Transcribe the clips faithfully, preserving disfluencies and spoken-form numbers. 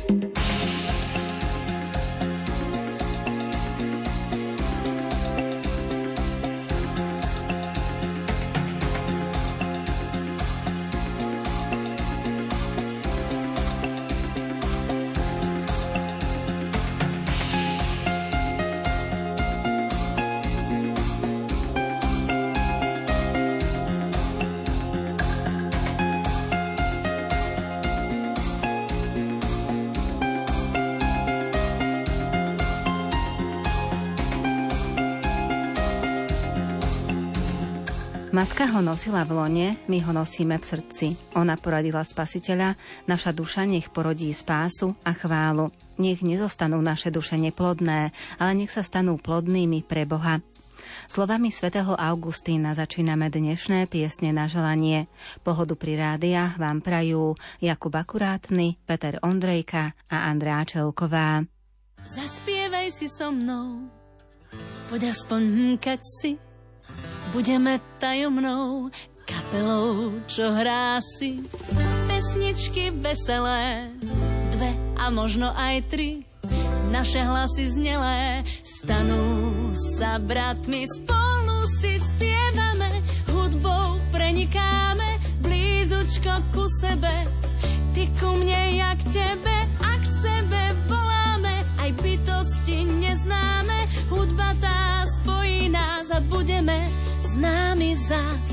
Matka ho nosila v lone, my ho nosíme v srdci. Ona poradila Spasiteľa, naša duša nech porodí spásu a chválu. Nech nezostanú naše duše neplodné, ale nech sa stanú plodnými pre Boha. Slovami svätého Augustína začíname dnešné piesne na želanie. Pohodu pri rádiách vám prajú Jakub Akurátny, Peter Ondrejka a Andrea Čelková. Zaspievaj si so mnou, poď aspoň hmkať si. Budeme tajomnou kapelou, čo hrá si pesničky veselé, dve a možno aj tri. Naše hlasy znelé stanú sa bratmi, spolu si spievame, hudbou prenikáme blízučko ku sebe. Ty ku mne, ja k tebe, a k sebe voláme, aj bytosti neznáme. Hudba tá spojí nás a budeme známi zas.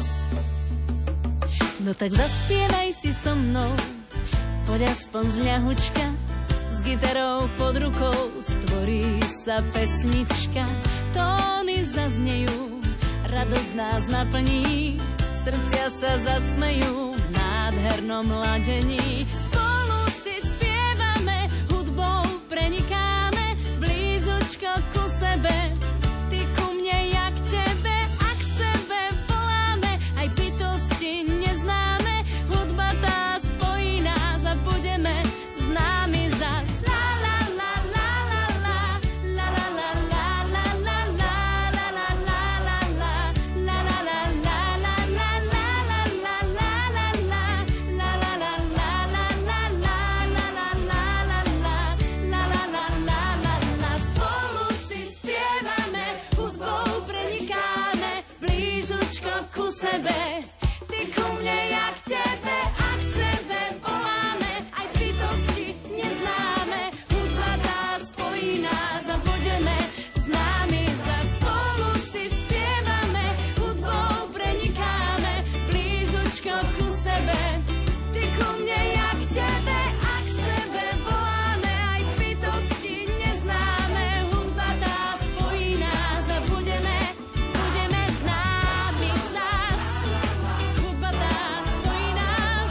No tak zaspievaj si so mnou, poď aspoň z ľahučka, s gitarou pod rukou stvorí sa pesnička. Tóny zaznejú, radosť nás naplní, srdcia sa zasmejú v nádhernom ladení. Spolu si spievame, hudbou prenikáme blízučko ku sebe. Ty ku mne, ja k tebe, a k sebe voláme, aj bytosti neznáme. Hudba tá spojí nás a budeme známi zas. La la la la la la, la la la la la la, la la la la la, la la la la la la, la la la la la la, la la la la la la, la la la la la, la la la la la. Spolu si spievame, hudbou prenikáme blízučko ku sebe. Ty ku mne, ja k tebe, a k sebe voláme, aj bytosti neznáme. Hudba tá spojí nás a budeme známi za. Spolu si spievame, hudbou prenikáme blízučko ku sebe. Ty ku mne, ja k tebe, a k sebe voláme, aj bytosti neznáme. Hudba tá spojí nás a budeme, budeme známi zas. Hudba tá spojí nás,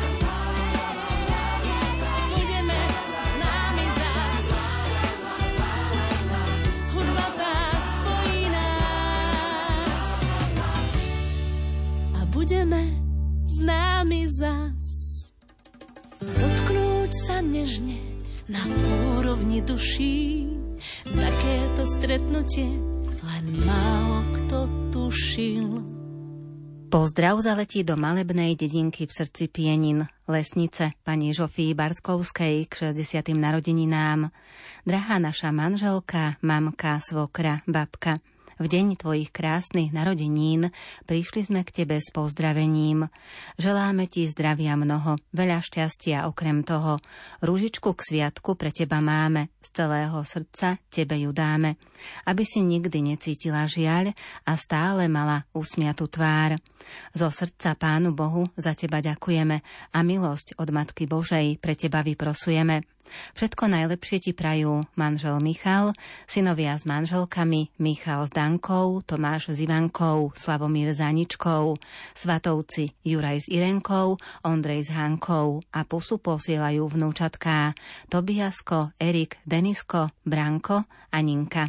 budeme známi zas. Hudba tá spojí nás a budeme známi zas. Dotknúť sa nežne na úrovni duší, takéto stretnutie len málo kto tušil. Pozdrav zaletí do malebnej dedinky v srdci Pienin, Lesnice, pani Žofii Bartkovskej k šesťdesiatym narodeninám. Drahá naša manželka, mamka, svokra, babka, v deň tvojich krásnych narodenín prišli sme k tebe s pozdravením. Želáme ti zdravia mnoho, veľa šťastia okrem toho. Rúžičku k sviatku pre teba máme, z celého srdca tebe ju dáme, aby si nikdy necítila žiaľ a stále mala usmiatú tvár. Zo srdca Pánu Bohu za teba ďakujeme a milosť od Matky Božej pre teba vyprosujeme. Všetko najlepšie ti prajú manžel Michal, synovia s manželkami Michal s Dankou, Tomáš s Ivankou, Slavomír s Aničkou, svatovci Juraj s Irenkou, Ondrej s Hankou a pusu posielajú vnúčatká Tobiasko, Erik, Denisko, Branko a Ninka.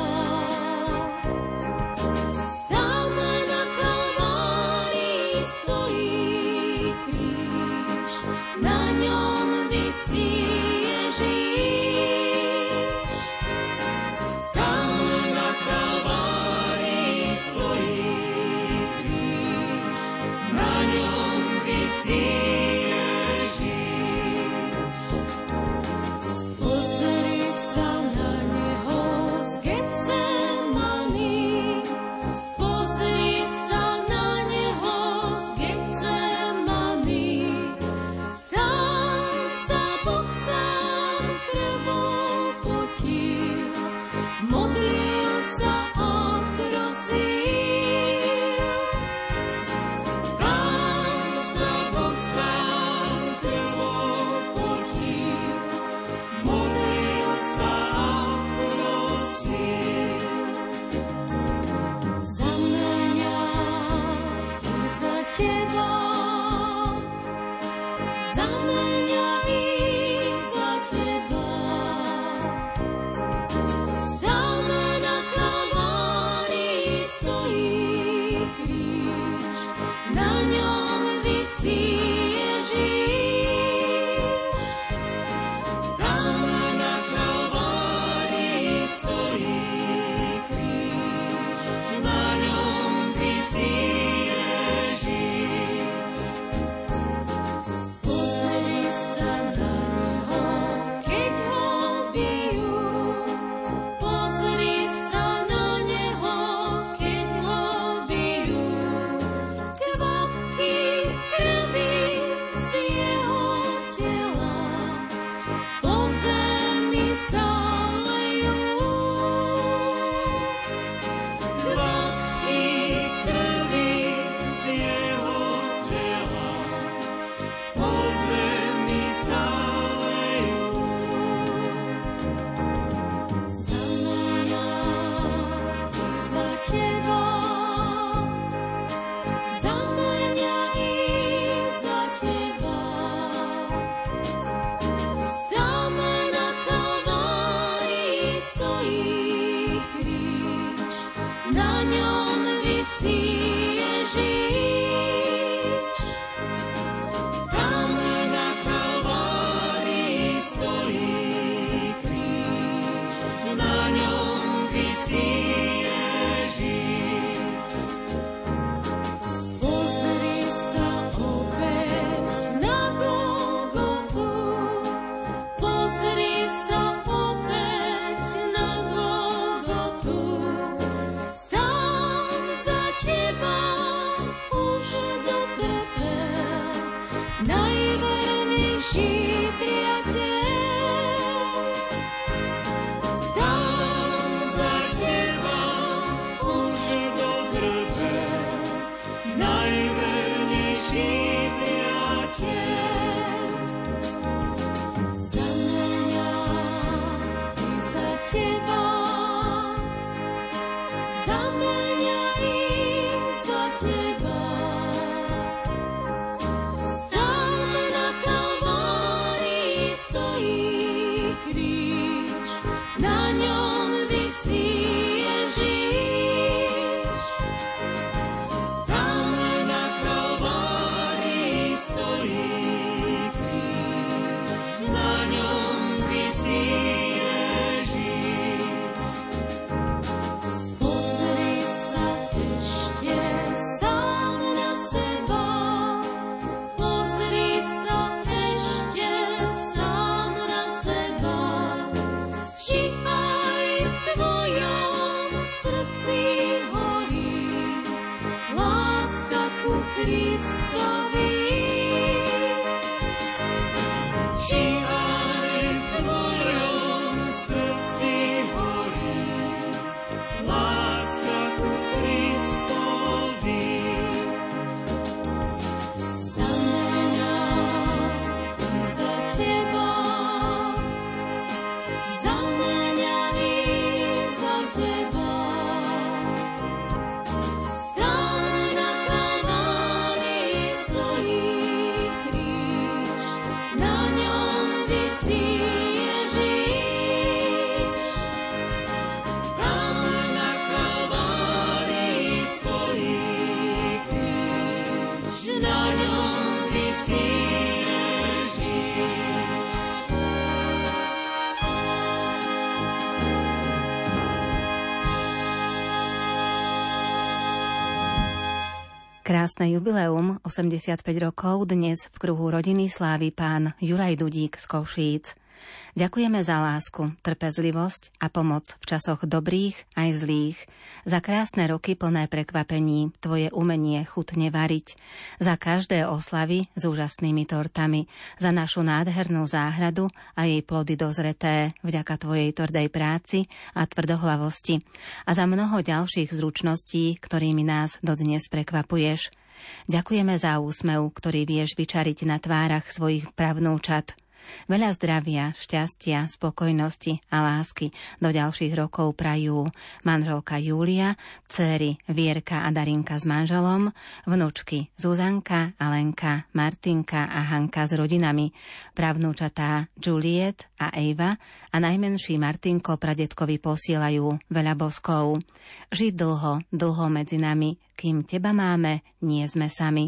Stop. Krásne jubileum, osemdesiatpäť rokov, dnes v kruhu rodiny slávi pán Juraj Dudík z Košíc. Ďakujeme za lásku, trpezlivosť a pomoc v časoch dobrých aj zlých, za krásne roky plné prekvapení, tvoje umenie chutne variť, za každé oslavy s úžasnými tortami, za našu nádhernú záhradu a jej plody dozreté vďaka tvojej tvrdej práci a tvrdohlavosti a za mnoho ďalších zručností, ktorými nás dodnes prekvapuješ. Ďakujeme za úsmev, ktorý vieš vyčariť na tvárach svojich pravnúčat. Veľa zdravia, šťastia, spokojnosti a lásky do ďalších rokov prajú manželka Júlia, dcéry Vierka a Darinka s manželom, vnúčky Zuzanka, Alenka, Martinka a Hanka s rodinami, pravnúčatá Juliet a Eva a najmenší Martinko pradedkovi posielajú veľa boskov. Žiť dlho, dlho medzi nami, kým teba máme, nie sme sami.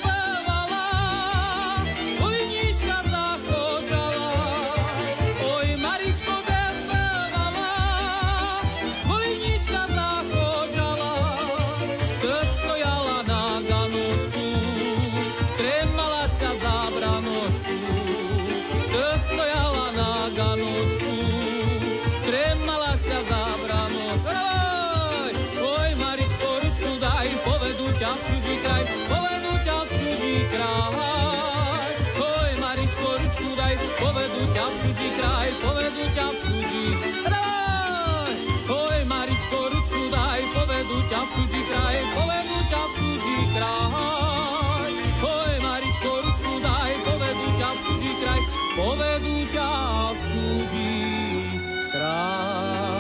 Oj ťa v cudzí kraj, povedú ťa v cudzí kraj. Oj, Maričko, ručku daj, povedú ťa v cudzí kraj, povedú ťa v cudzí kraj. Oj, Maričko, ručku daj, povedú ťa v cudzí kraj, povedú ťa v cudzí kraj.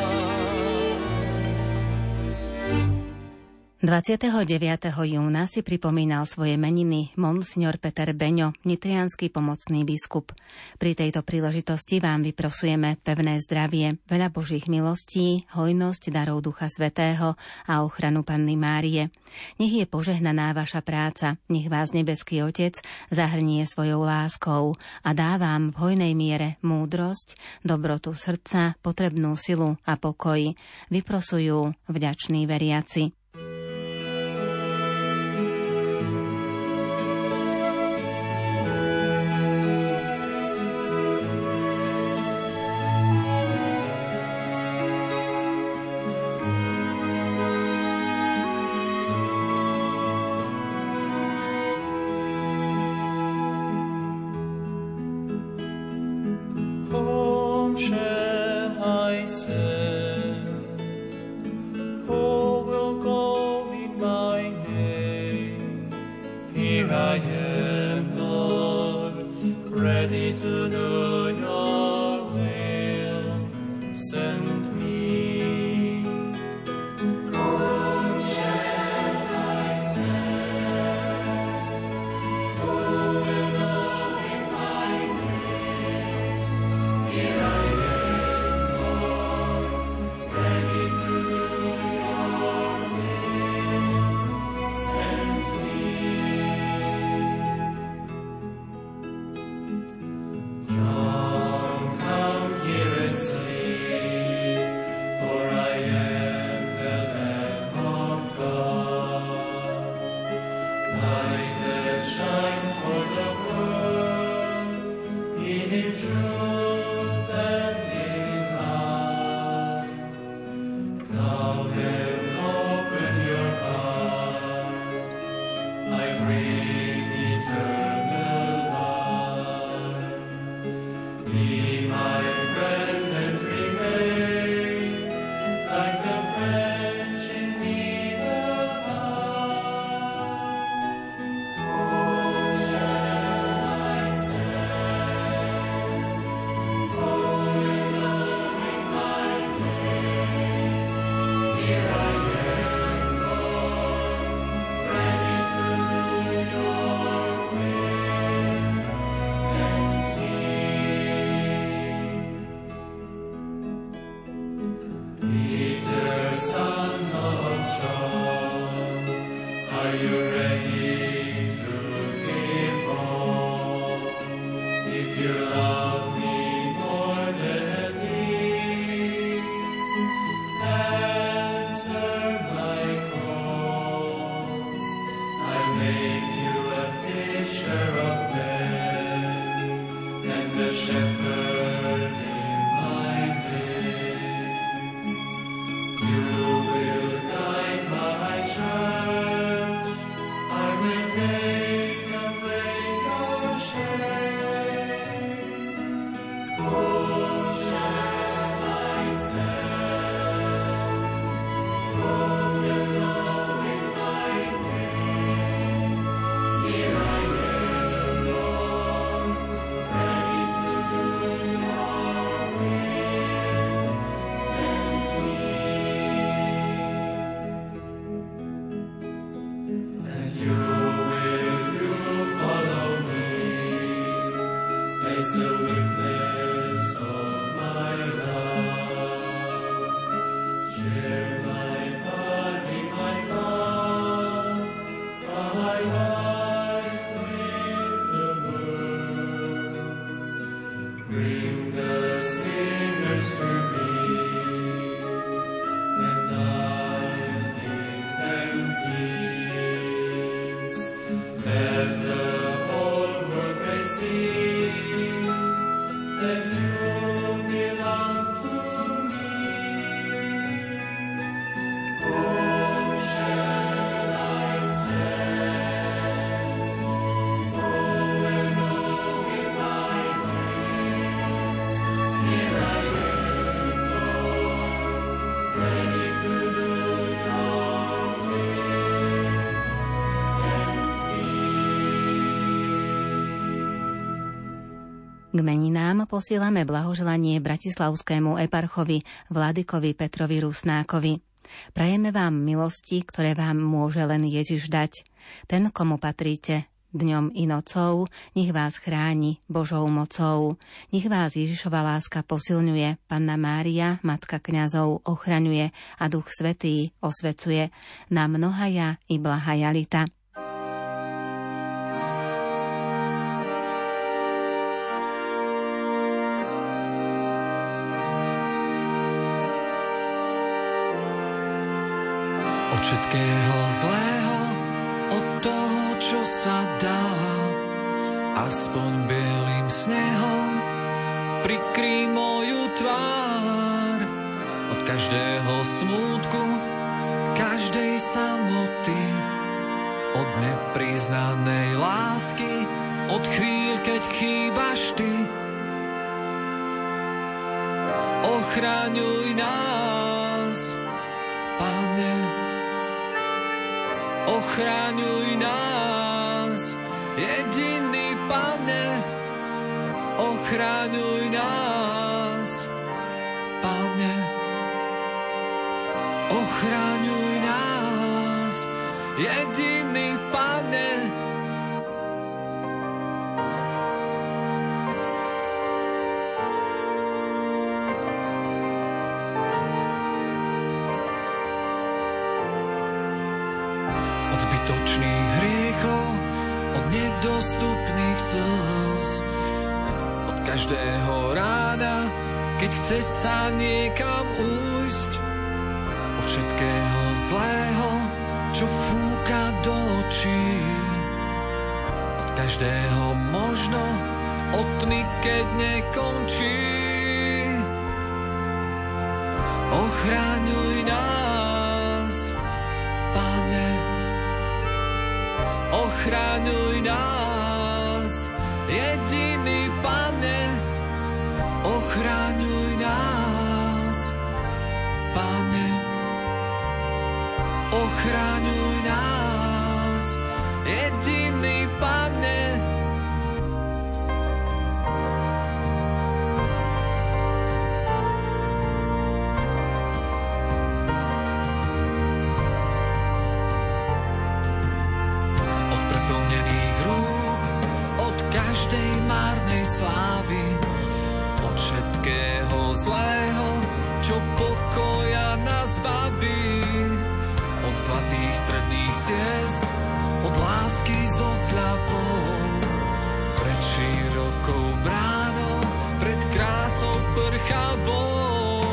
dvadsiateho deviateho júna si pripomínal svoje meniny monsignor Peter Beňo, nitriansky pomocný biskup. Pri tejto príležitosti vám vyprosujeme pevné zdravie, veľa Božích milostí, hojnosť darov Ducha Svätého a ochranu Panny Márie. Nech je požehnaná vaša práca, nech vás nebeský Otec zahrnie svojou láskou a dá vám v hojnej miere múdrosť, dobrotu srdca, potrebnú silu a pokoj. Vyprosujú vďační veriaci. K meninám posielame blahoželanie bratislavskému eparchovi Vladykovi Petrovi Rusnákovi. Prajeme vám milosti, ktoré vám môže len Ježiš dať. Ten, komu patríte dňom i nocou, nech vás chráni Božou mocou. Nech vás Ježišova láska posilňuje, Panna Mária, Matka kňazov, ochraňuje a Duch Svätý osvecuje. Na mnohaja i blahaja lita. Od všetkého zlého, od toho, čo sa dá, aspoň bielým snehom prikrý moju tvár. Od každého smútku, každej samoty, od nepriznanej lásky, od chvíľ, keď chýbaš ty. Ochraňuj nás, Pane, ochraňuj nás, jediný Pane, ochraňuj nás, Pane, ochraňuj nás, jediný Pane. Od zbytočných hriechov, od nedostupných slz, od každého rána, keď chce sa niekam újsť, od všetkého zlého, čo fúka do očí, od každého možno, od tmy, keď nekončí. Ochraňuj nás, Pane, ochraňuj nás, jediný Pane, ochraňuj nás, Pane, ochraňuj nás, jediný Pane. Každej márnej slávy, od všetkého zlého, čo pokoja nás baví, od zlatých stredných ciest, od lásky so sľavou, pred širokou bránou, pred krásou prchavou.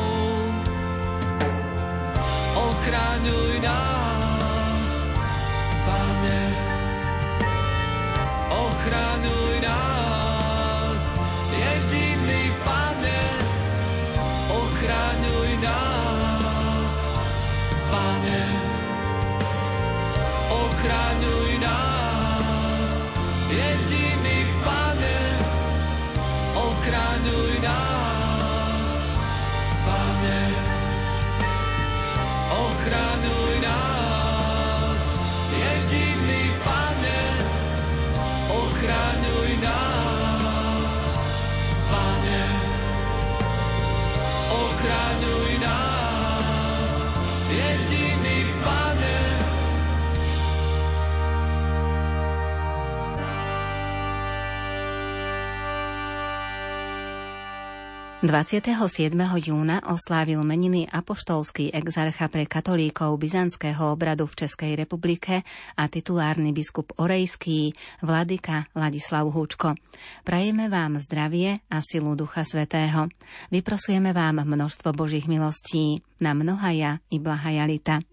Ochraňuj nás, Pane, ochraňuj nás, jediný Pane, ochraňuj nás, Pane, ochraňuj nás, jediný Pane, ochraňuj nás, Pane, ochraňuj nás, jediný Pane, ochraňuj nás, Pane, ochraňuj nás, jediný Pane. dvadsiateho siedmeho júna oslávil meniny apoštolský exarcha pre katolíkov byzantského obradu v Českej republike a titulárny biskup orejský Vladyka Ladislav Húčko. Prajeme vám zdravie a silu Ducha Svätého. Vyprosujeme vám množstvo Božích milostí na mnohaja i blahaja lita.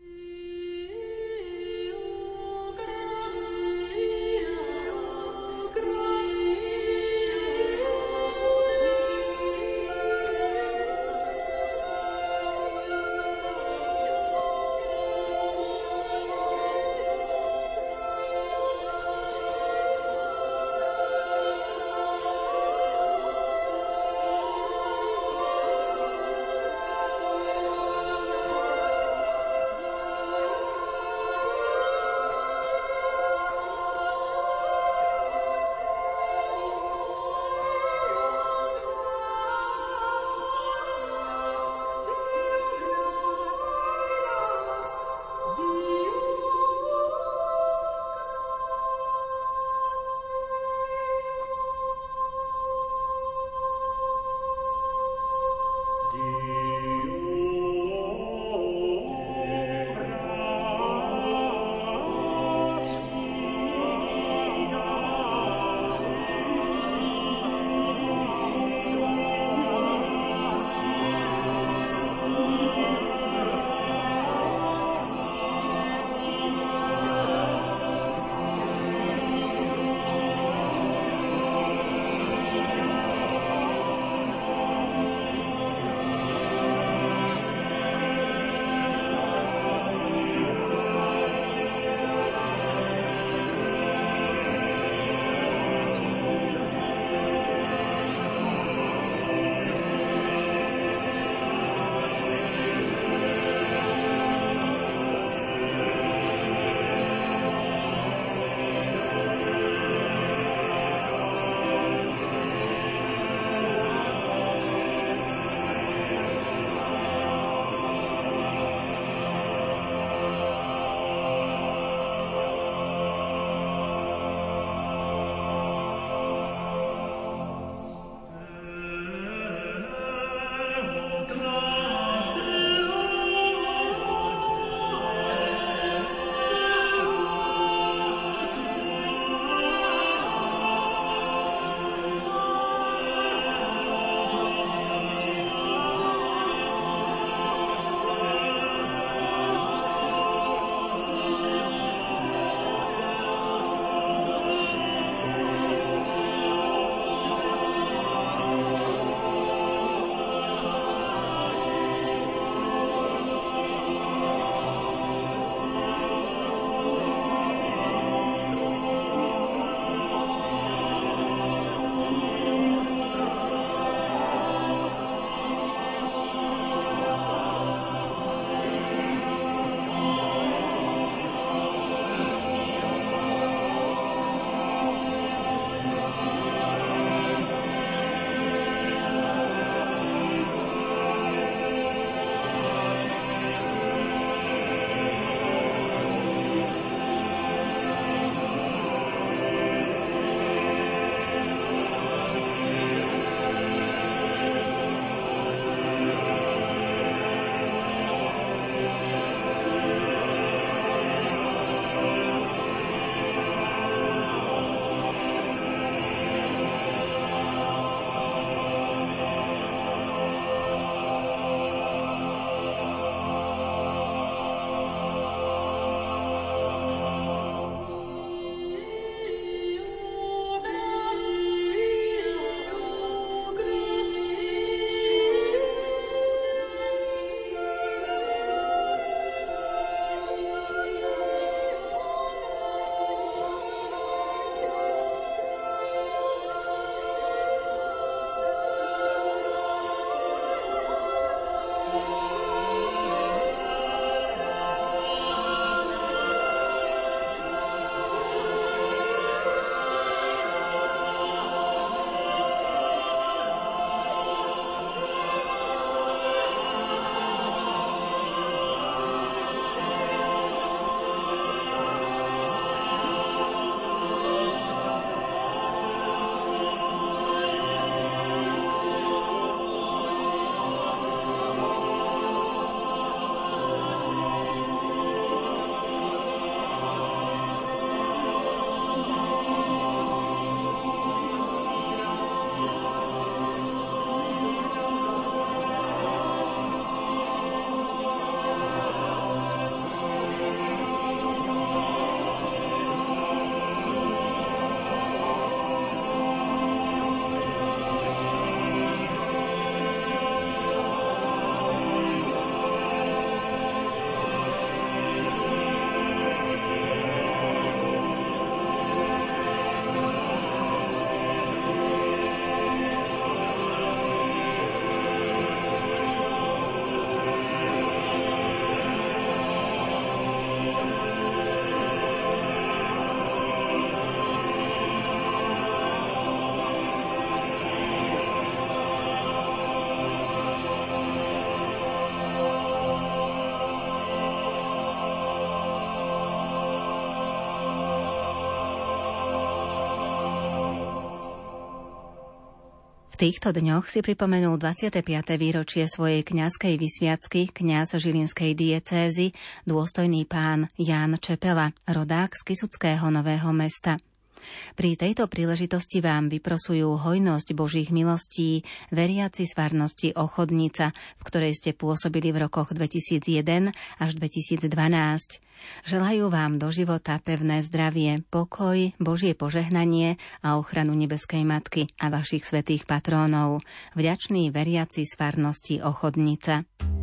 týchto dňoch si pripomenul dvadsiate piate výročie svojej kňazskej vysviacky kňaz žilinskej diecézy, dôstojný pán Ján Čepela, rodák z Kysuckého Nového Mesta. Pri tejto príležitosti vám vyprosujú hojnosť Božích milostí veriaci z farnosti Ochodnica, v ktorej ste pôsobili v rokoch dvetisícjeden až dvetisícdvanásť. Želajú vám do života pevné zdravie, pokoj, Božie požehnanie a ochranu nebeskej Matky a vašich svätých patrónov. Vďační veriaci z farnosti Ochodnica.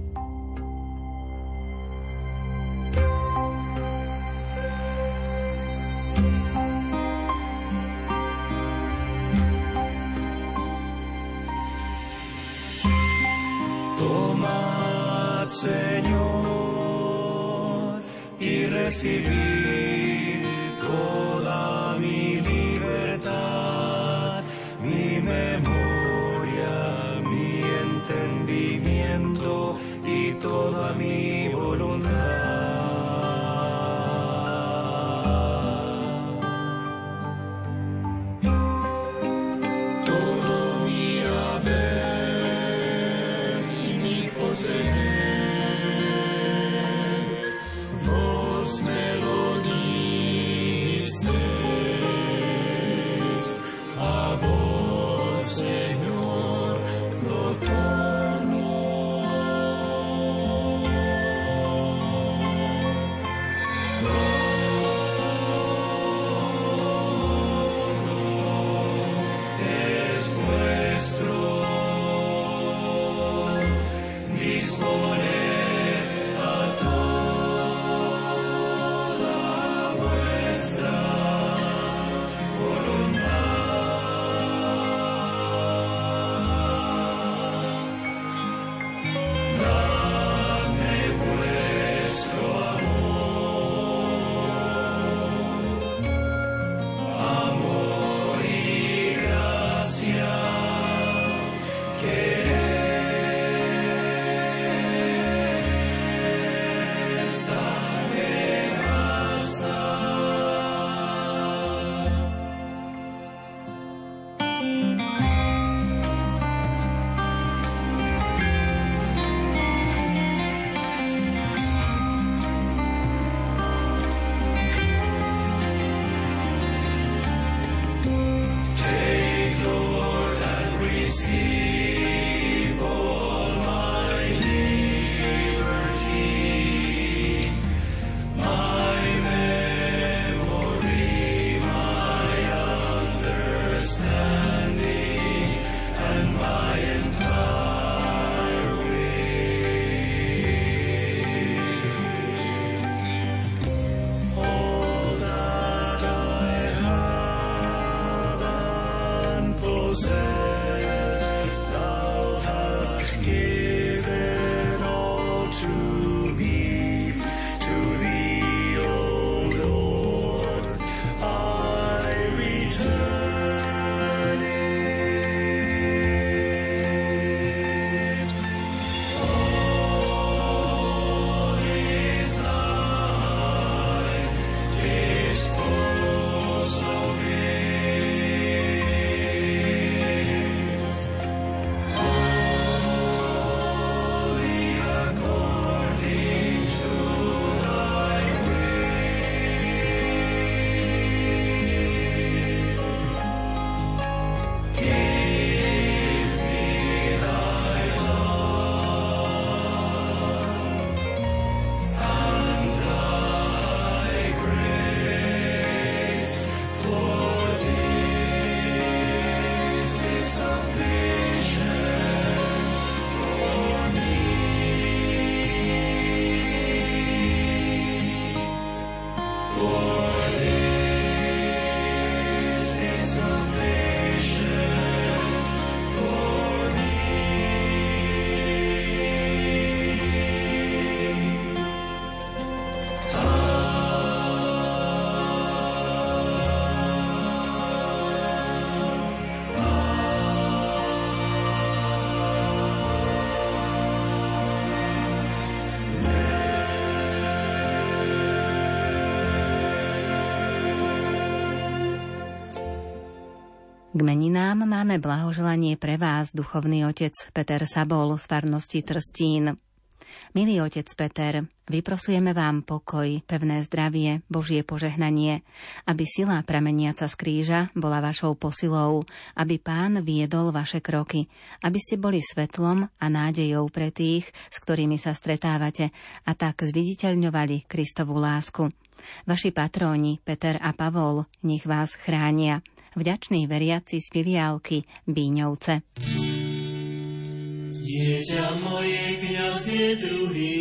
Tomad, Señor, y recibid toda mi libertad, mi memoria, mi entendimiento y toda mi voluntad. Todo mi haber y mi poseer, vos me lo disteis, a vos, Señor, lo torno. Es nuestro, disponemos K meninám máme blahoželanie pre vás, duchovný otec Peter Sabol z farnosti Trstín. Milý otec Peter, vyprosujeme vám pokoj, pevné zdravie, Božie požehnanie, aby sila prameniaca z kríža bola vašou posilou, aby Pán viedol vaše kroky, aby ste boli svetlom a nádejou pre tých, s ktorými sa stretávate, a tak zviditeľňovali Kristovu lásku. Vaši patróni Peter a Pavol, nech vás chránia. Vďační veriaci z filiálky Bíňovce. Dieťa moje, kňaz je druhý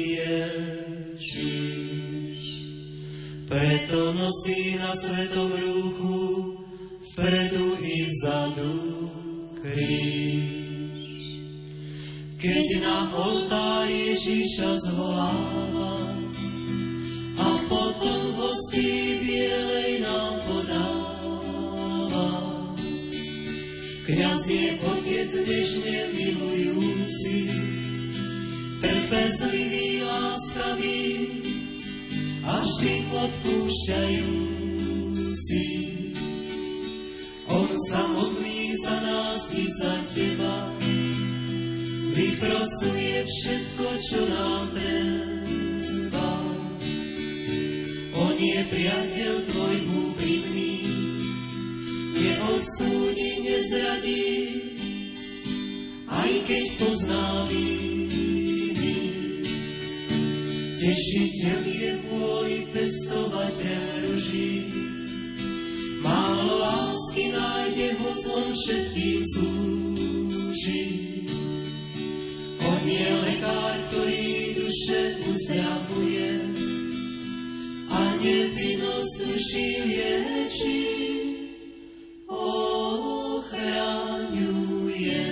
Ježiš, preto nosí na svetom rúchu vpredu i vzadu kríž. Keď na oltár Ježiša zvoláva a potom v hostí bielej nám podáva, kňaz je otec nežne milujúci, trpezlivý, láskavý a vždy odpúšťajúci. On sa modlí za nás i za teba, vyprosuje všetko, čo nám treba. On je priateľ tvoj úprimný, neodsúdi, nezradí, aj keď pozná viny. Tešiteľ je vôli, pestovateľ ruží, málo lásky nájde, ho zlom všetkým slúži. On je lekár, ktorý duše uzdravuje a nevinnosť duší liečí. Ochraňuje.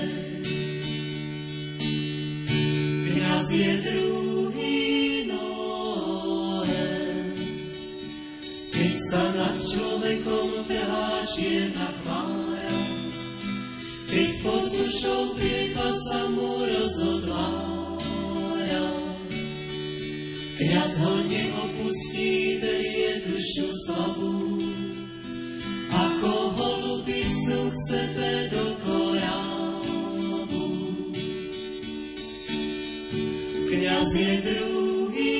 Kňaz je druhý Noé, keď sa nad človekom trhá čierna chmára, keď pod dušou priepa sa mu rozotvára. Kňaz ho neopustí, berie dušu slabú, ako holubicu k sebe do korábu. Kňaz je druhý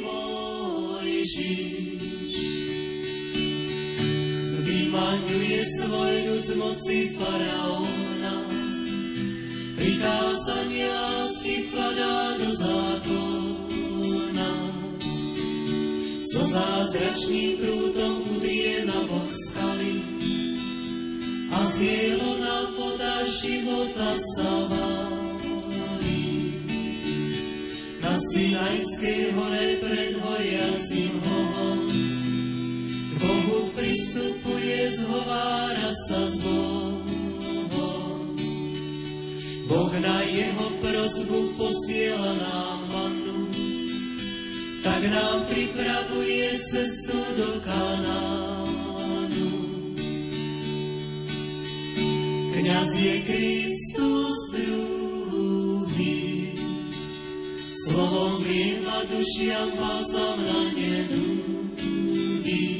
Mojžiš, vymaňuje svoj ľud z moci faraóna, prikázania lásky vkladá do zákona. So zázračným prúdom udrie na bok skaly a z jelona voda života sa valí. Na Sinajskej hore pred horiacim hovom k Bohu pristupuje, zhovára sa s Bohom. Boh na jeho prosbu posiela nám mannu, tak nám pripravuje cestu do Kanánu. Kňaz je Kristus druhý, slovom vlieva dušiam balzam na nedúhy.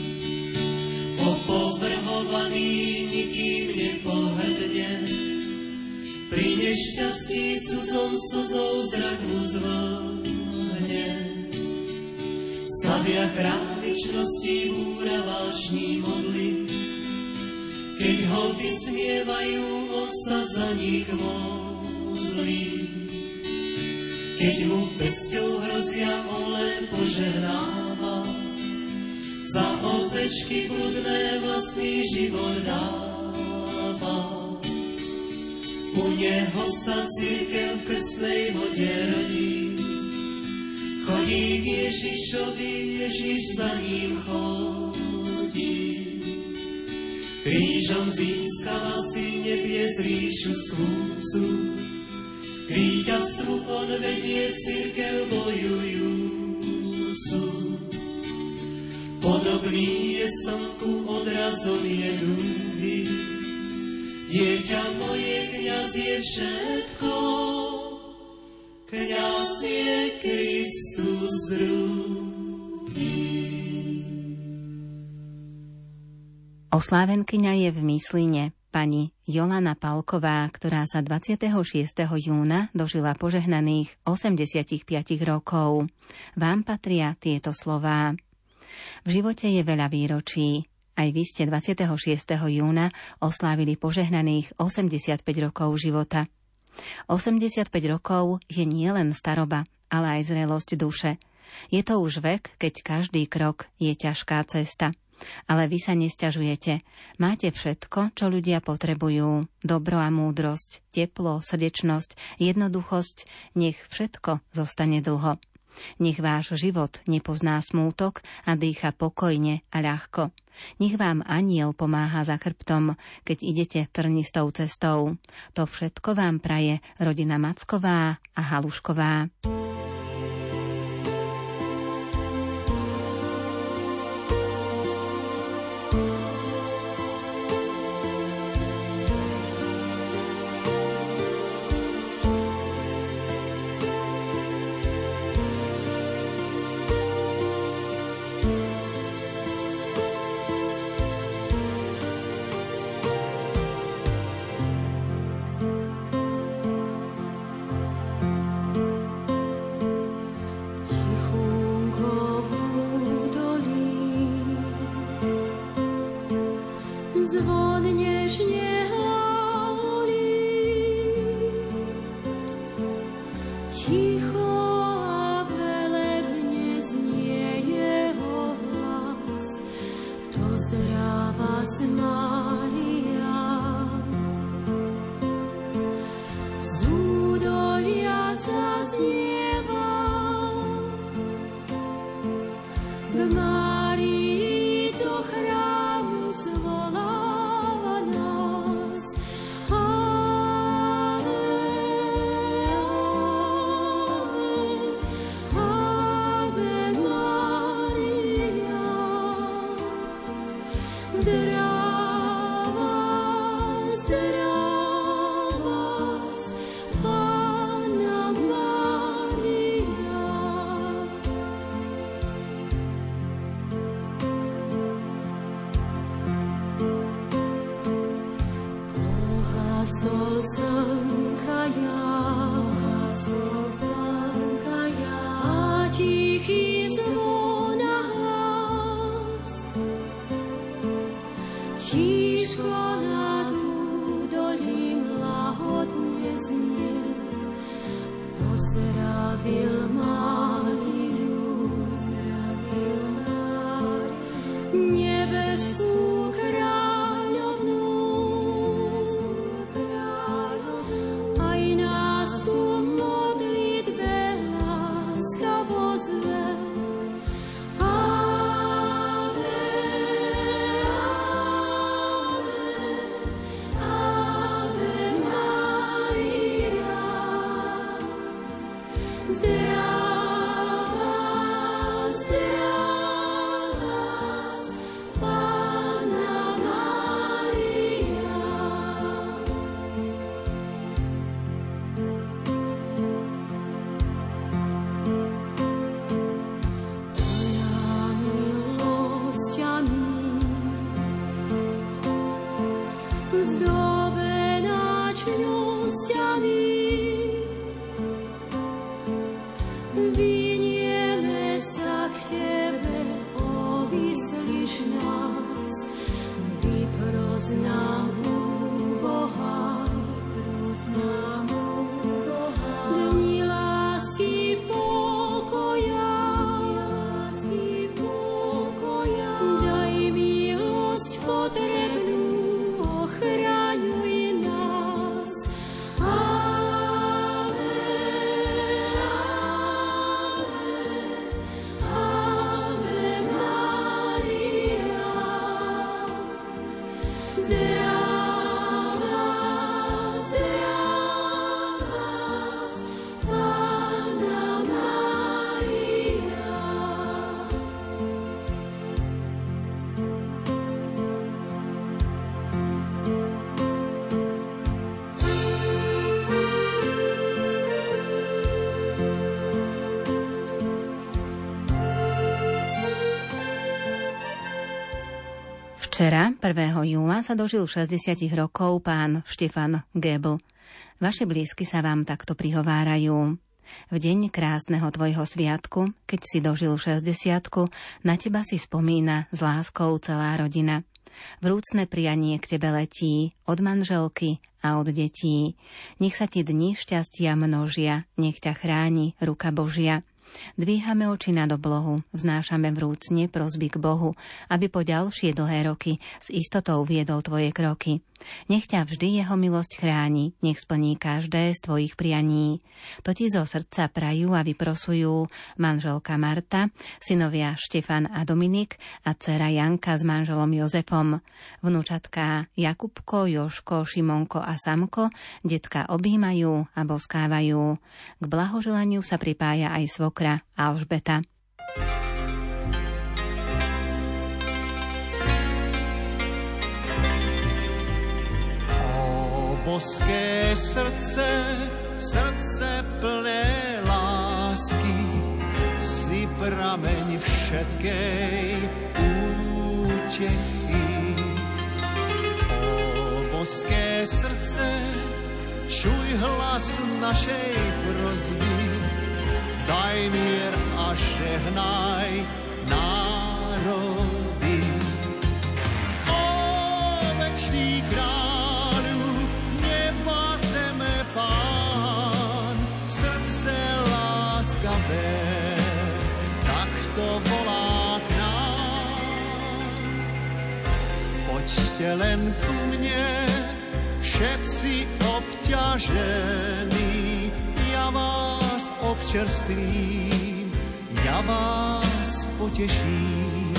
Opovrhovaný nikým nepohrdne, pri nešťastí cudzom slzou zrak mu zvlhne. Stavia králičnosti, búra vášní modly, keď ho vysmievajú, on sa za nich modlí. Keď mu pesťou hrozia, on len požehnáva, za ovečky bludné vlastný život dáva. U neho sa cirkev v krstnej vode rodí, chodí k Ježišovi, Ježiš za ním chodí. Krížom získala si nebies ríšu slúcu, k víťazstvu on vedie cirkev bojujúcu. Podobný je slnku, odrazom je dúhy, dieťa moje, kňaz je všetko, kňaz je Kristus druhý. Oslávenkyňa je v Mysline. pani Jolana Palková, ktorá sa dvadsiateho šiesteho júna dožila požehnaných osemdesiatpäť rokov. Vám patria tieto slová. V živote je veľa výročí. Aj vy ste dvadsiateho šiesteho júna oslávili požehnaných osemdesiatpäť rokov života. osemdesiatpäť rokov je nielen staroba, ale aj zrelosť duše. Je to už vek, keď každý krok je ťažká cesta. Ale vy sa nesťažujete. Máte všetko, čo ľudia potrebujú. Dobro a múdrosť, teplo, srdečnosť, jednoduchosť. Nech všetko zostane dlho. Nech váš život nepozná smútok a dýcha pokojne a ľahko. Nech vám anjel pomáha za chrbtom, keď idete trnistou cestou. To všetko vám praje rodina Macková a Halušková. Zvon nežne halí, ticho a velebne znie jeho hlas, dozráva z Mária. Z údolia zaznieva k Márii do chrámu zvoláva nás. Ave, Ave, Ave Maria. Zdravá, zdravá, Panna Mária. Pohasol slnka jas, a tichý zvon a hlas. Tíško nad údolím lahodne znie, pozdravil Máriu, nebeskú kráľovnú. Aj nás tu modlitbe láskavo zve. Ave, Ave, Ave Maria. Zdravá, Včera, prvého júla, sa dožil šesťdesiat rokov pán Štefan Gebl. Vaši blízky sa vám takto prihovárajú. V deň krásneho tvojho sviatku, keď si dožil šesťdesiatku, na teba si spomína s láskou celá rodina. Vrúcne prianie k tebe letí od manželky a od detí. Nech sa ti dni šťastia množia, nech ťa chráni ruka Božia. Dvíhame oči nad oblohu, vznášame vrúcne prosby k Bohu, aby po ďalšie dlhé roky s istotou viedol tvoje kroky. Nech ťa vždy jeho milosť chráni, nech splní každé z tvojich prianí. To ti zo srdca prajú a vyprosujú manželka Marta, synovia Štefan a Dominik a dcera Janka s manželom Jozefom, vnúčatká Jakubko, Joško, Šimonko a Samko, detka objímajú a boskávajú. K blahoželaniu sa pripája aj svokra Alžbeta. Boské srdce, srdce plné lásky, si prameň všetkej útechy. O boské srdce, čuj hlas našej prosby, daj mier a žehnaj národy. O večný kráľ, Pán, srdce láskavé, takto volá k nám. Poďte len ku mne, všetci obťažení, ja vás občerstvím, ja vás poteším.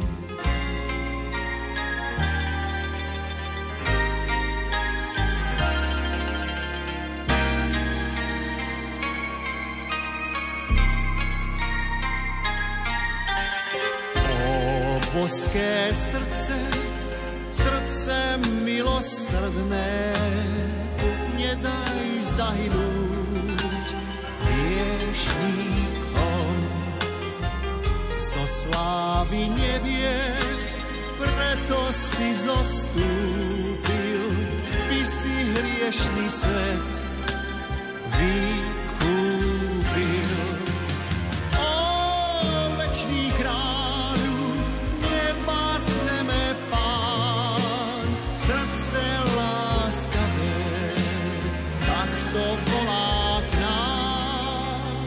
Boské srdce, srdce milosrdné, nedaj zahynúť hriešníkom. Zo slávy nebies, preto si zostúpil, by si hriešný svet vykúpil. O večný kráľ, srdce láskavé, takto volá k nám.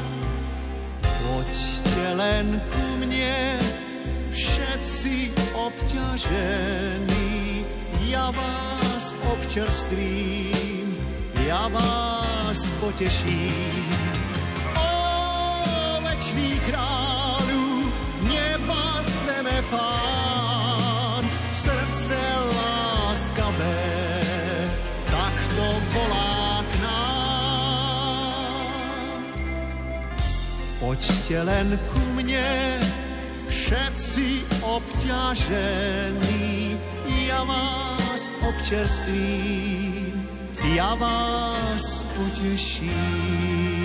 Poďte len ku mne, všetci obťažení, ja vás občerstvím, ja vás poteším. O večný kráľu, neba zeme Pán, srdce láskavé, takto volá k nám. Poďte len ku mne, všetci obťažení, ja vás občerstvím, ja vás poteším.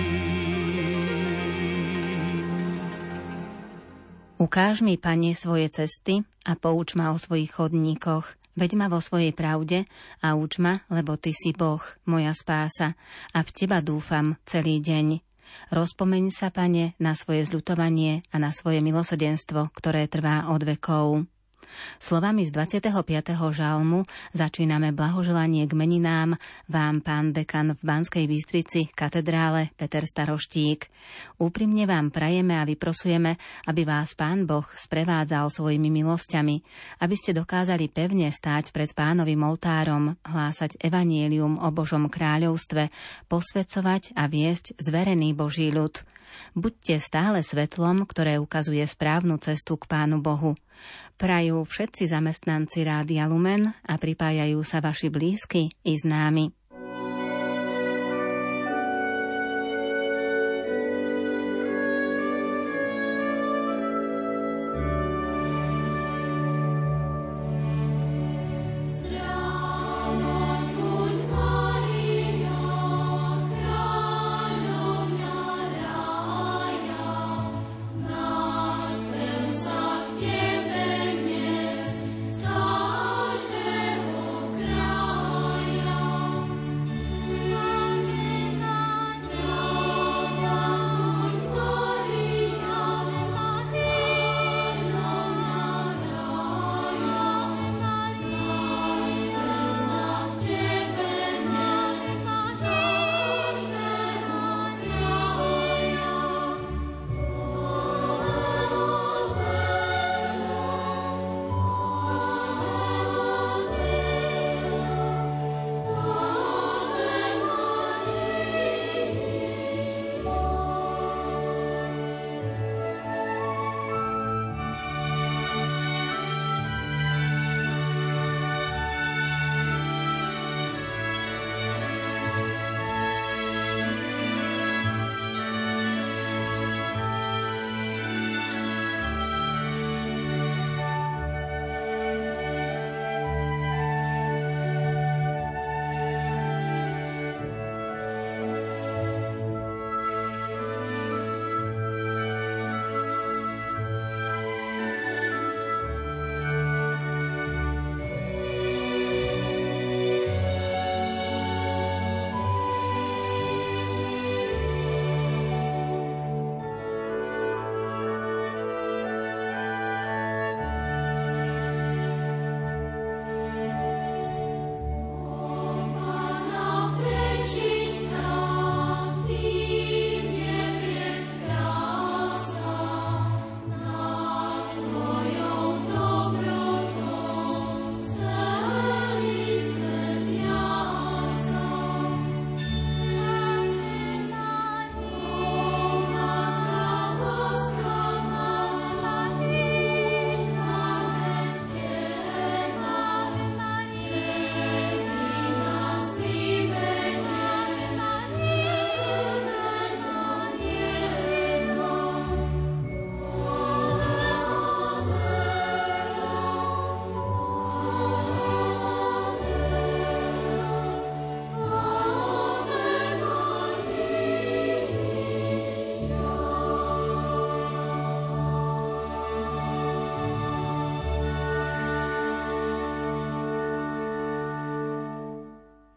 Ukáž mi, Pane, svoje cesty a pouč ma o svojich chodníkoch. Veď ma vo svojej pravde a uč ma, lebo Ty si Boh, moja spása, a v Teba dúfam celý deň. Rozpomeň sa, Pane, na svoje zľutovanie a na svoje milosrdenstvo, ktoré trvá od vekov. Slovami z dvadsiateho piateho žalmu začíname blahoželanie k meninám vám, pán dekan v Banskej Bystrici, katedrále Peter Staroštík. Úprimne vám prajeme a vyprosujeme, aby vás Pán Boh sprevádzal svojimi milosťami, aby ste dokázali pevne stáť pred Pánovým oltárom, hlásať evanjelium o Božom kráľovstve, posväcovať a viesť zverený Boží ľud. Buďte stále svetlom, ktoré ukazuje správnu cestu k Pánu Bohu. Prajú všetci zamestnanci Rádia Lumen a pripájajú sa vaši blízky i známi. Star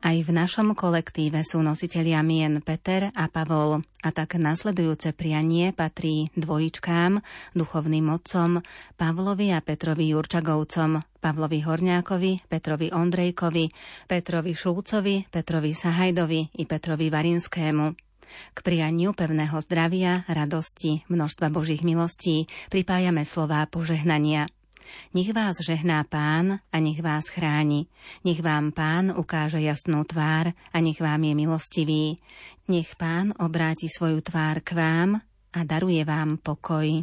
Aj v našom kolektíve sú nositelia mien Peter a Pavol a tak nasledujúce prianie patrí dvojičkám, duchovným otcom Pavlovi a Petrovi Jurčagovcom, Pavlovi Horňákovi, Petrovi Ondrejkovi, Petrovi Šulcovi, Petrovi Sahajdovi i Petrovi Varinskému. K prianiu pevného zdravia, radosti, množstva Božích milostí pripájame slová požehnania. Nech vás žehná Pán a nech vás chráni. Nech vám Pán ukáže jasnú tvár a nech vám je milostivý. Nech Pán obráti svoju tvár k vám a daruje vám pokoj.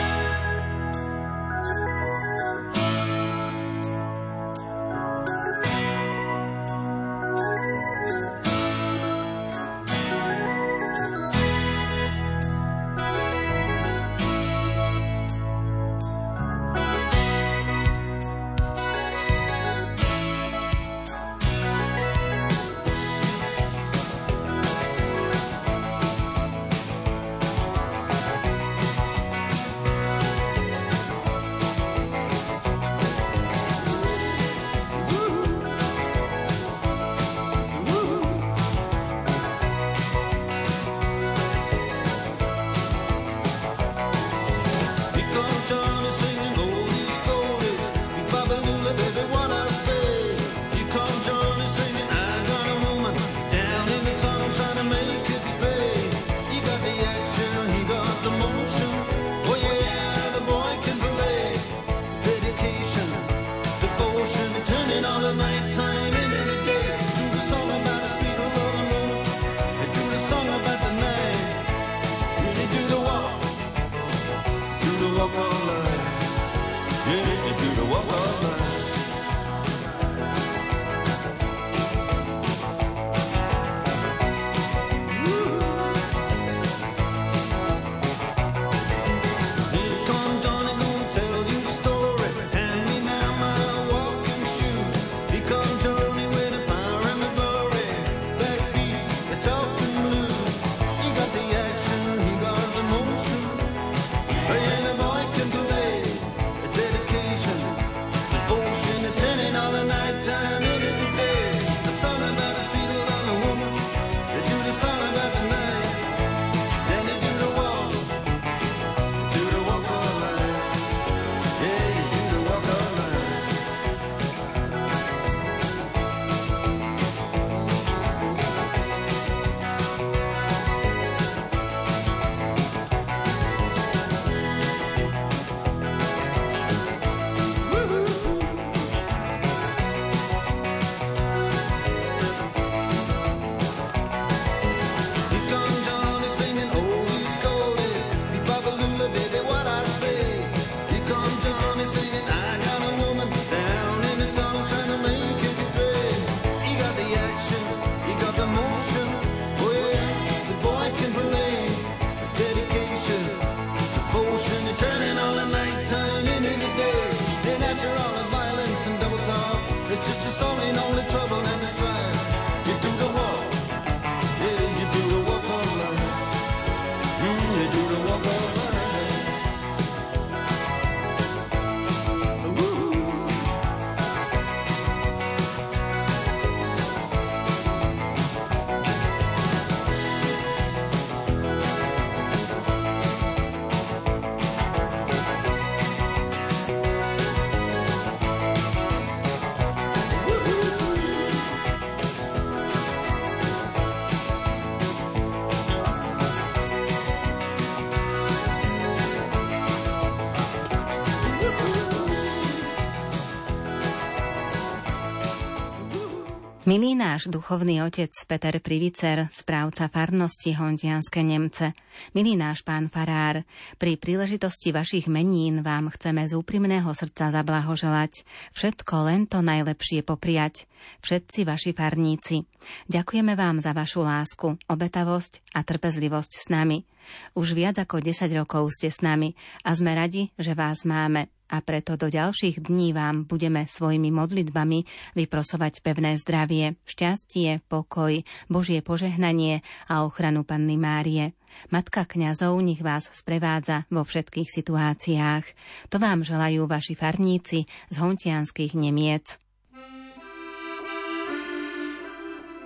Milý náš duchovný otec Peter Privicer, správca farnosti Hontianske Nemce, milý náš pán farár, pri príležitosti vašich menín vám chceme z úprimného srdca zablahoželať, všetko len to najlepšie popriať, všetci vaši farníci. Ďakujeme vám za vašu lásku, obetavosť a trpezlivosť s nami. Už viac ako desať rokov ste s nami a sme radi, že vás máme. A preto do ďalších dní vám budeme svojimi modlitbami vyprosovať pevné zdravie, šťastie, pokoj, Božie požehnanie a ochranu Panny Márie. Matka kňazov nech vás sprevádza vo všetkých situáciách. To vám želajú vaši farníci z hontianskych Nemiec.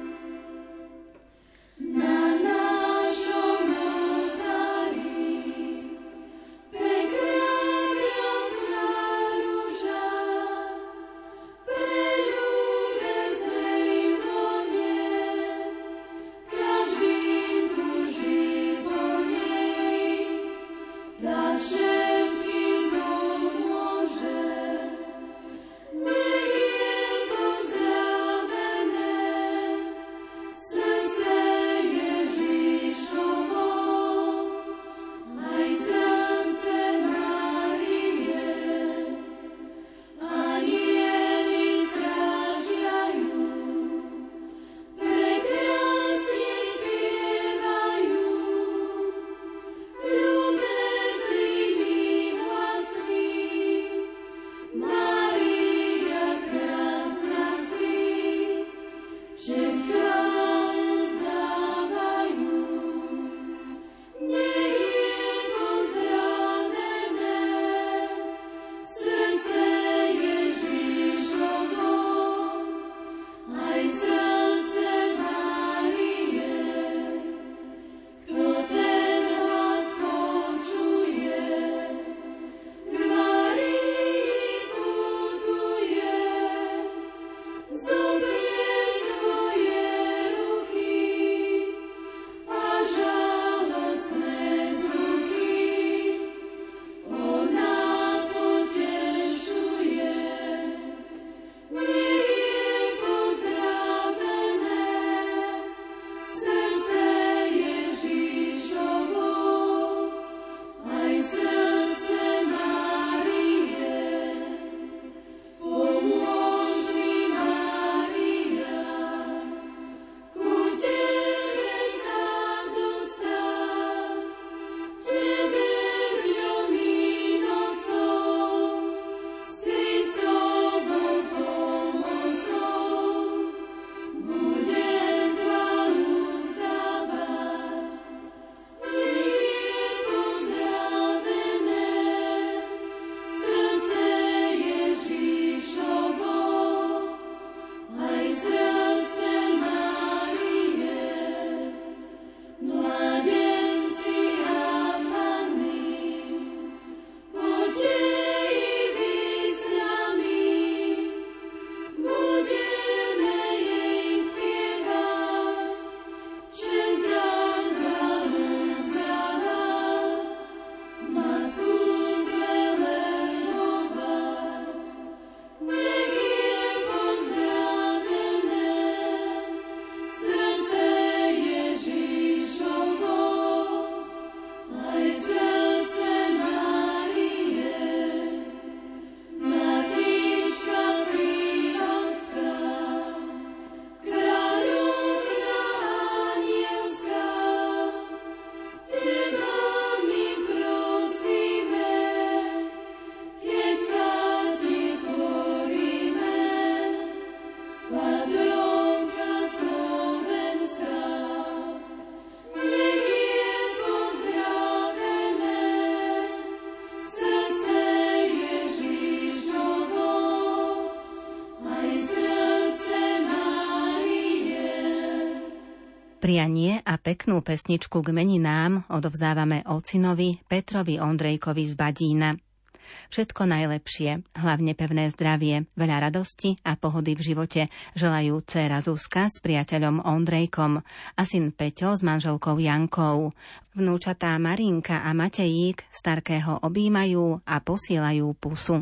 Prianie a peknú pesničku k meninám odovzdávame ocinovi Petrovi Ondrejkovi z Badína. Všetko najlepšie, hlavne pevné zdravie, veľa radosti a pohody v živote želajú dcéra Zuzka s priateľom Ondrejkom a syn Peťo s manželkou Jankou. Vnúčatá Marinka a Matejík starkého objímajú a posielajú pusu.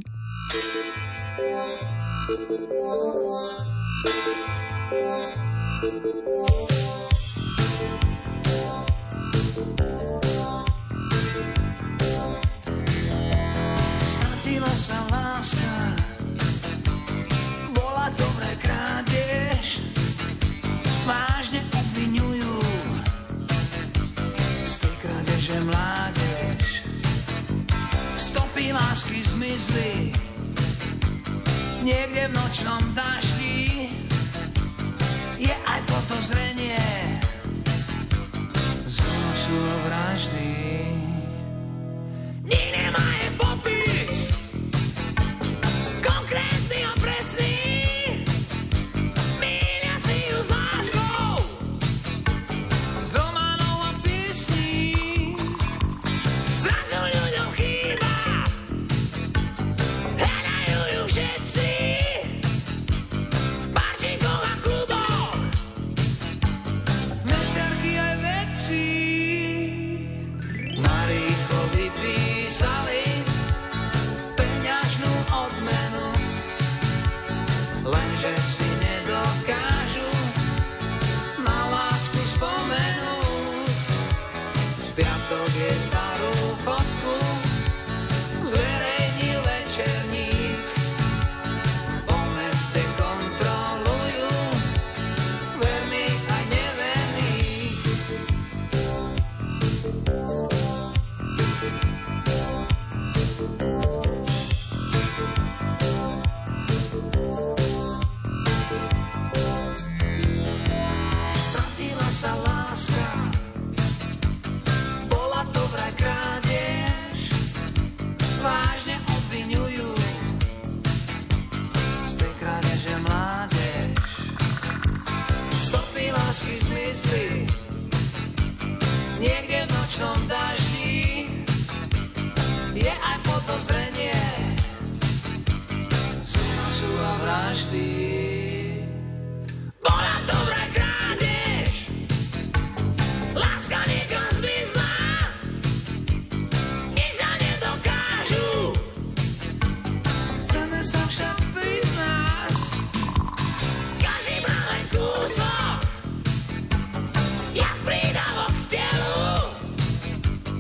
Stratila sa láska, bola to vraj krádež, vážne obviňujú z tej krádeže mládež. Stopy lásky zmizli niekde v nočnom daždi, je aj podozrenie z únosu a vraždy. Nik nemá je popis konkrétny a presný, mília si ju s láskou z románov a piesní. Zrazu ľuďom chýba, hľadajú ju všetci v barčíkoch a kluboch, mesiarky aj vedci. Narýchlo vypísali peňažnú odmenu, lenže si nedokážu na lásku spomenúť. V piatok je starú fotku zverejnil večerník, po meste kontrolujú verných aj neverných. Stratila sa láska, bola to vraj krádež, vážne obviňujú z tej krádeže mládež. Stopy lásky zmizli niekde v nočnom daždi, je aj podozrenie z únosu a vraždy. Bola to vraj krádež, láska niekam zmizla, nič nám nedokážu. Chceme sa však priznať, každý má len kúsok, jak prídavok k telu.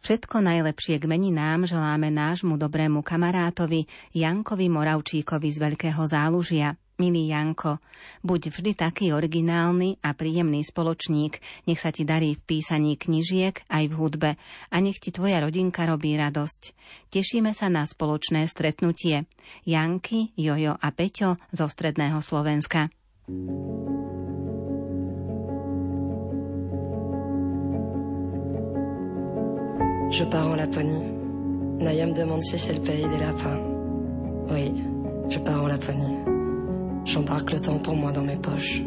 Všetko najlepšie k meninám želáme nášmu dobrému kamarátovi Jankovi Moravčíkovi z Veľkého Zálužia. Milý Janko, buď vždy taký originálny a príjemný spoločník, nech sa ti darí v písaní knižiek aj v hudbe a nech ti tvoja rodinka robí radosť. Tešíme sa na spoločné stretnutie. Janky, Jojo a Peťo zo Stredného Slovenska. Je pars en Laponie. Naya me demande si c'est le pays des lapins. Oui, je pars en Laponie. J'embarque le temps pour moi dans mes poches.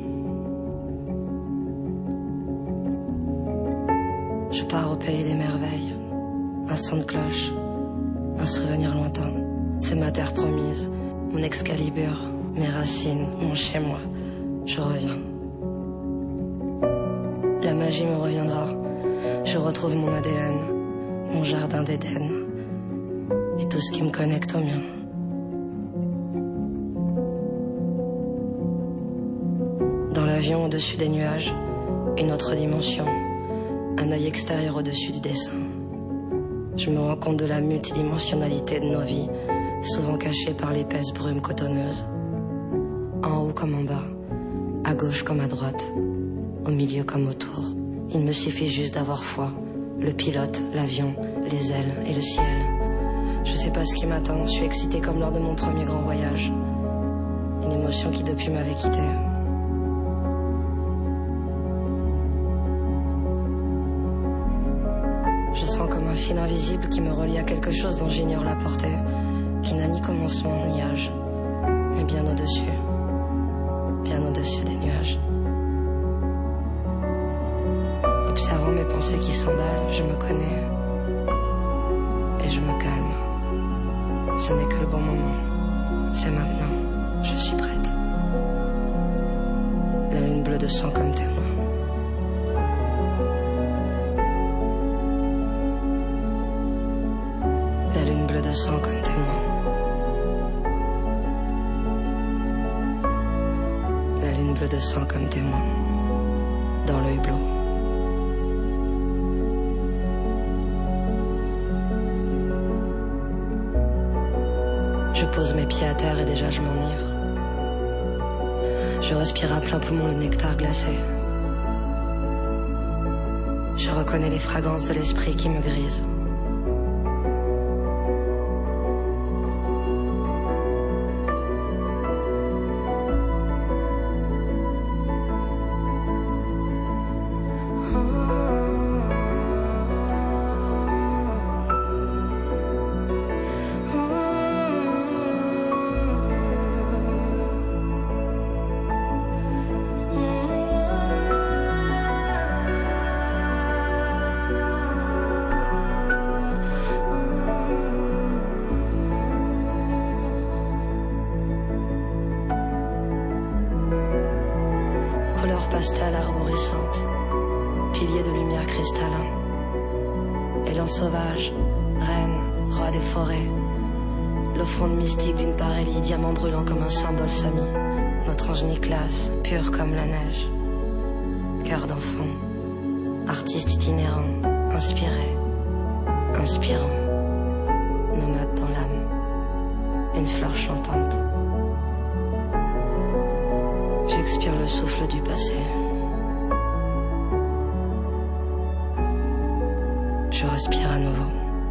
Je pars au pays des merveilles. Un son de cloche, un souvenir lointain. C'est ma terre promise, mon Excalibur, mes racines, mon chez-moi. Je reviens. La magie me reviendra. Je retrouve mon A D N, mon jardin d'Éden et tout ce qui me connecte au mien. Dans l'avion au-dessus des nuages, une autre dimension, un œil extérieur au-dessus du dessin. Je me rends compte de la multidimensionnalité de nos vies, souvent cachée par l'épaisse brume cotonneuse. En haut comme en bas, à gauche comme à droite, au milieu comme autour. Il me suffit juste d'avoir foi, le pilote, l'avion, les ailes et le ciel. Je sais pas ce qui m'attend, je suis excitée comme lors de mon premier grand voyage. Une émotion qui depuis m'avait quittée. Je sens comme un fil invisible qui me relie à quelque chose dont j'ignore la portée, qui n'a ni commencement ni âge, mais bien au-dessus, bien au-dessus des nuages. Observant mes pensées qui s'emballent, je me connais et je me calme. Ce n'est que le bon moment, c'est maintenant, je suis prête. La lune bleue de sang comme témoin. La lune bleue de sang comme témoin. La lune bleue de sang comme témoin. Dans le hublot. Je pose mes pieds à terre et déjà je m'enivre. Je respire à plein poumon le nectar glacé. Je reconnais les fragrances de l'esprit qui me grisent. Couleur pastel arborescente, piliers de lumière cristallin, élan sauvage, reine, roi des forêts, l'offrande mystique d'une parélie, diamant brûlant comme un symbole sami, notre ange Nicolas, pur comme la neige, cœur d'enfant, artiste itinérant, inspiré, inspirant, nomade dans l'âme, une fleur chantante. J'expire le souffle du passé. Je respire à nouveau.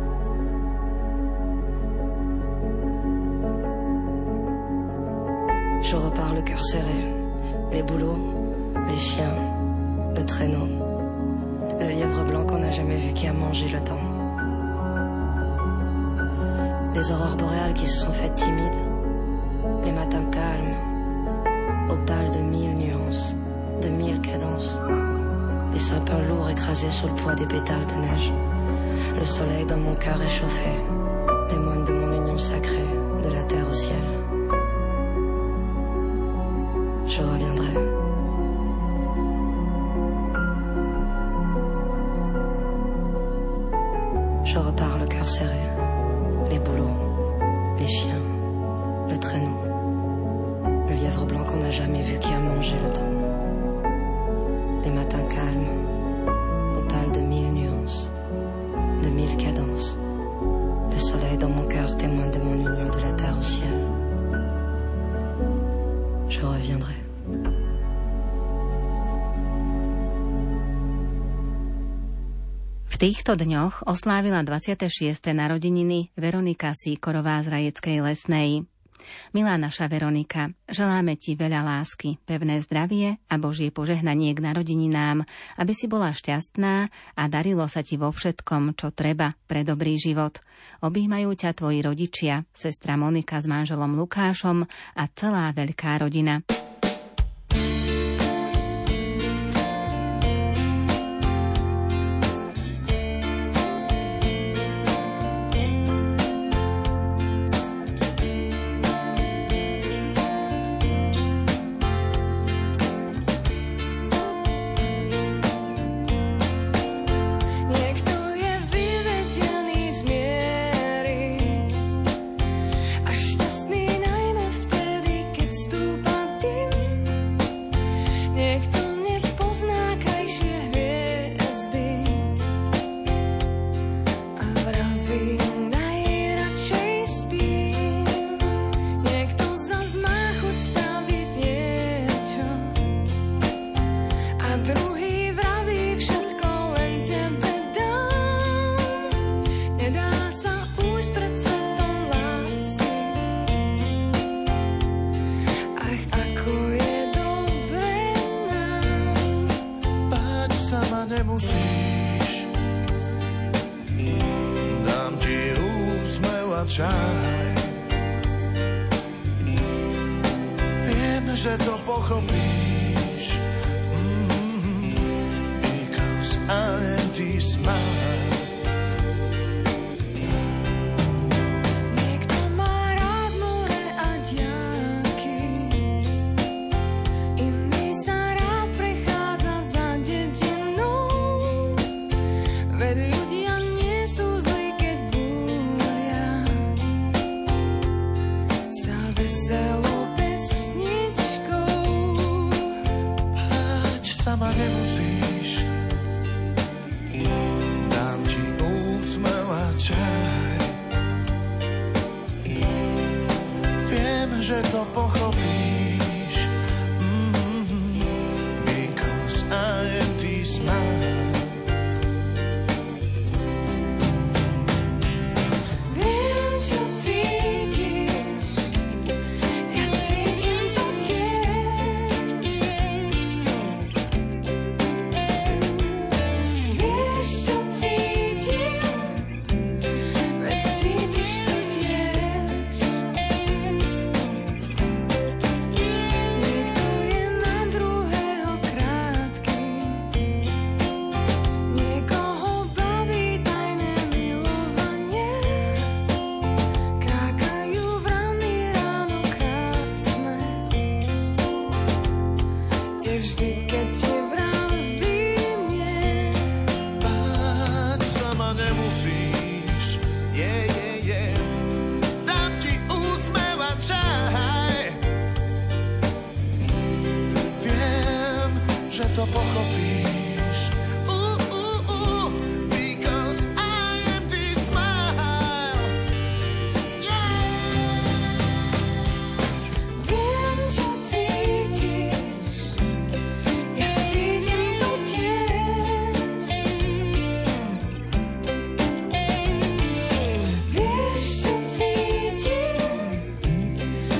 Je repars le cœur serré. Les bouleaux, les chiens, le traîneau, le lièvre blanc qu'on n'a jamais vu qui a mangé le temps. Des aurores boréales qui se sont faites timides. Les matins calmes. Opale de mille nuances, de mille cadences. Les sapins lourds écrasés sous le poids des pétales de neige. Le soleil dans mon cœur échauffé témoigne de mon union sacrée, de la terre au ciel. Je reviendrai. Je repars le cœur serré, les bouleaux, les chiens, le traîneau. Le lièvre blanc qu'on n'a jamais vu qui a mangé le temps. Les matins calmes, opales de mille nuances, de mille cadences. týchto dňoch oslávila dvadsiate šieste narodeniny Veronika Síkorová z Rajeckej Lesnej. Milá naša Veronika, želáme ti veľa lásky, pevné zdravie a Božie požehnanie k narodeninám, aby si bola šťastná a darilo sa ti vo všetkom, čo treba pre dobrý život. Objímajú ťa tvoji rodičia, sestra Monika s manželom Lukášom a celá veľká rodina.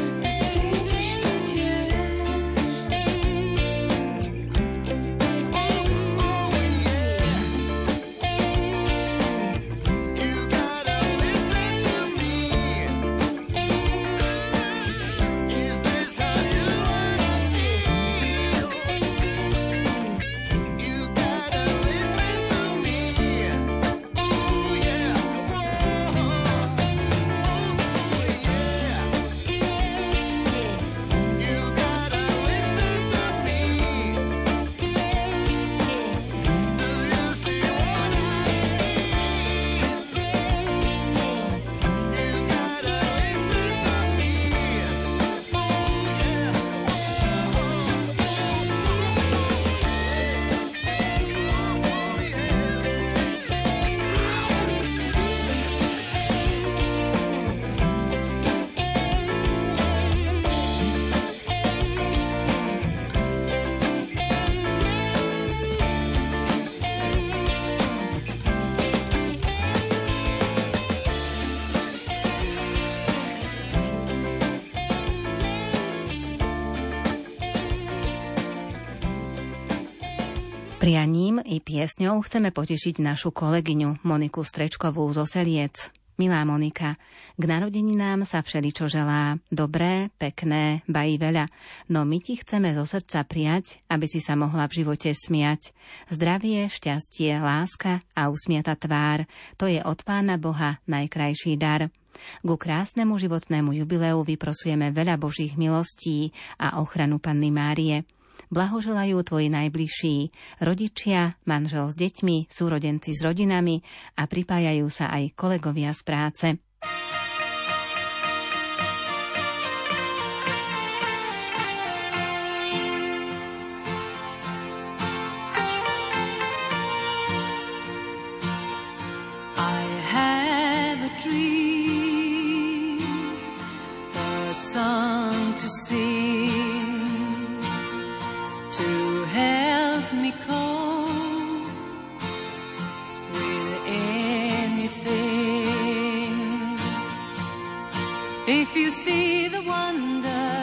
Yeah. Prianím i piesňou chceme potešiť našu kolegyňu Moniku Strečkovú zo Seliec. Milá Monika, k narodeninám sa všeličo želá. Dobré, pekné, bají veľa. No my ti chceme zo srdca prijať, aby si sa mohla v živote smiať. Zdravie, šťastie, láska a usmiata tvár. To je od Pána Boha najkrajší dar. Ku krásnemu životnému jubileu vyprosujeme veľa Božích milostí a ochranu Panny Márie. Blahoželajú tvoji najbližší, rodičia, manžel s deťmi, súrodenci s rodinami a pripájajú sa aj kolegovia z práce. I have a dream, a song to sing, to help me cope with anything. If you see the wonder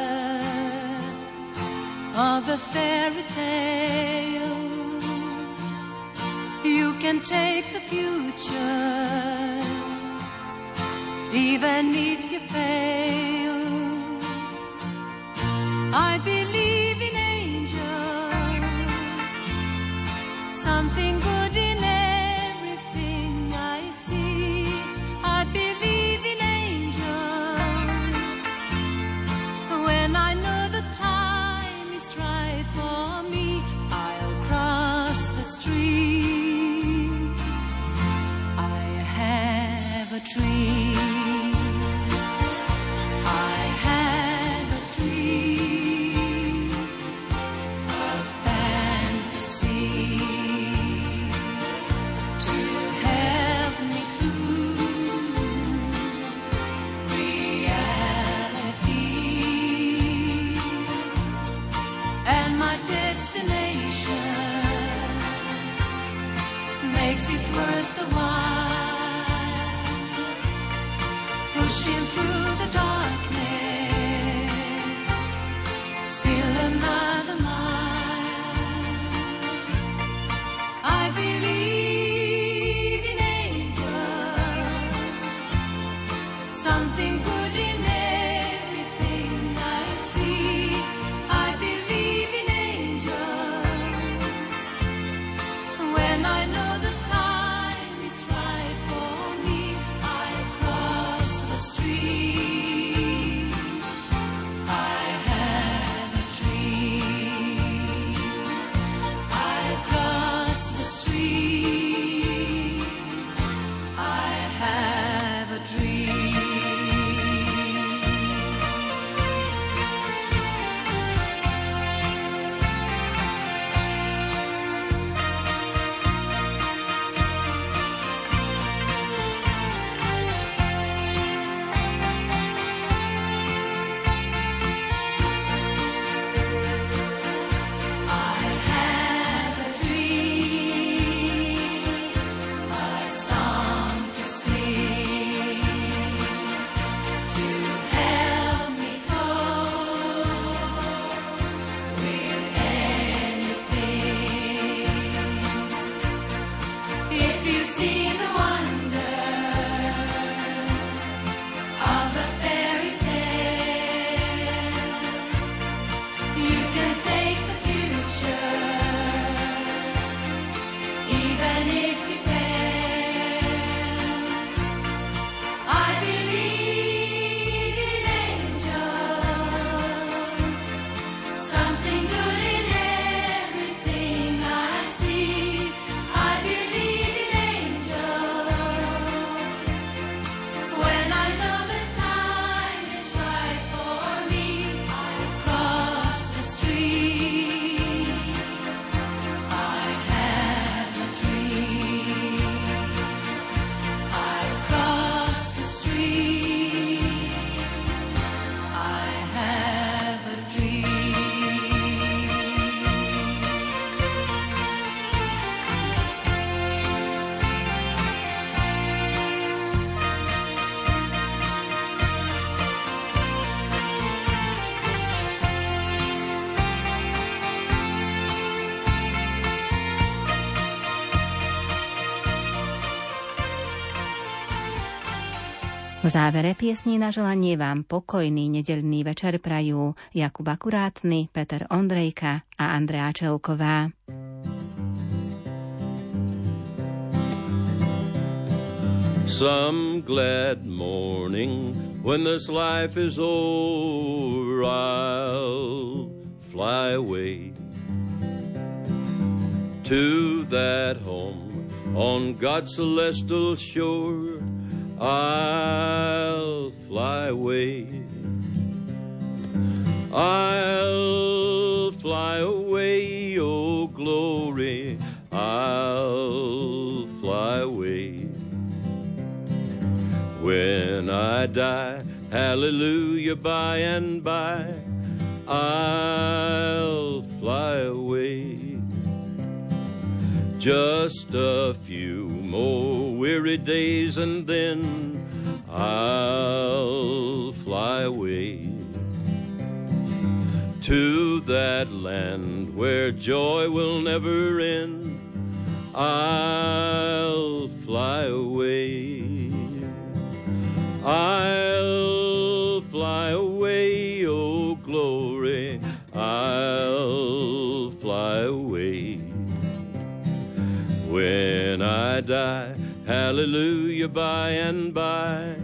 of a fairy tale, you can take the future, even if you fail. I believe in something good in everything I see. I believe in angels. When I know the time is right for me, I'll cross the street. I have a dream. I have a dream, a fantasy. Makes it worth the while, pushing through the darkness, still another mile. I believe in angels, something good in everything I see. I believe in angels. When I know the time is right. V závere piesní na želanie vám pokojný nedeľný večer prajú Jakub Akurátny, Peter Ondrejka a Andrea Čelková. Some glad morning when this life is over, I'll fly away to that home on God's celestial shore. I'll fly away. I'll fly away, oh glory. I'll fly away. When I die, hallelujah, by and by, I'll fly away. Just a few more weary days and then I'll fly away to that land where joy will never end. I'll fly away. I'll fly away, oh glory. I'll fly away. When I die, hallelujah, by and by,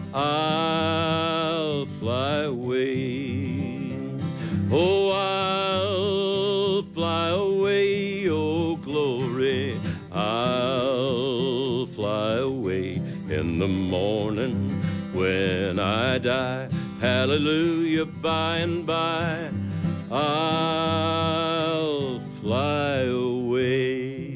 I'll fly away. Oh, I'll fly away, oh glory, I'll fly away. In the morning when I die, hallelujah, by and by, I'll fly away.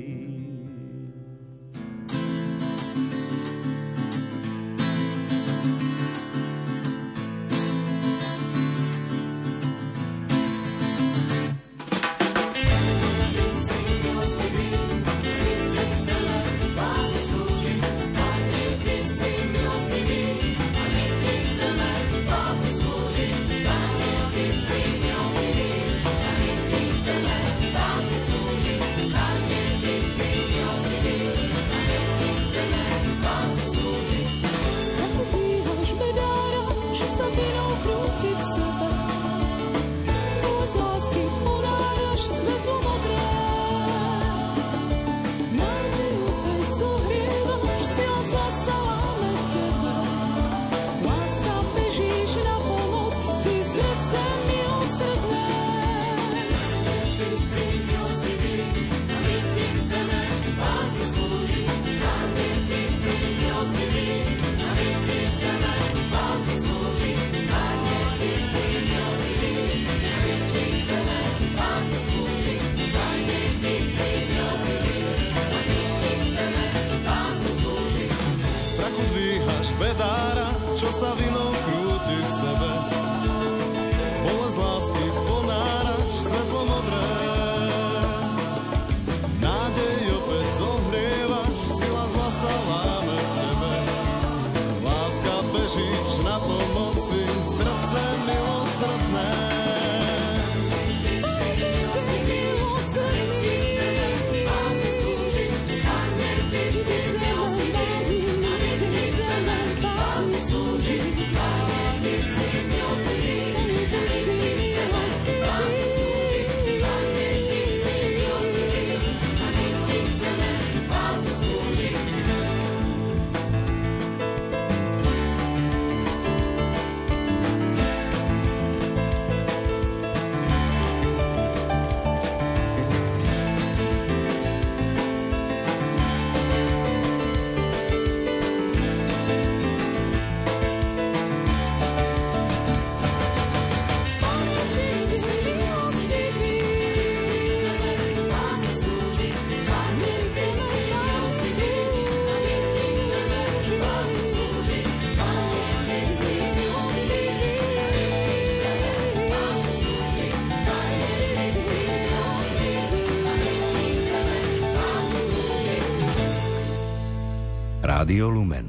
Rádio Lumen.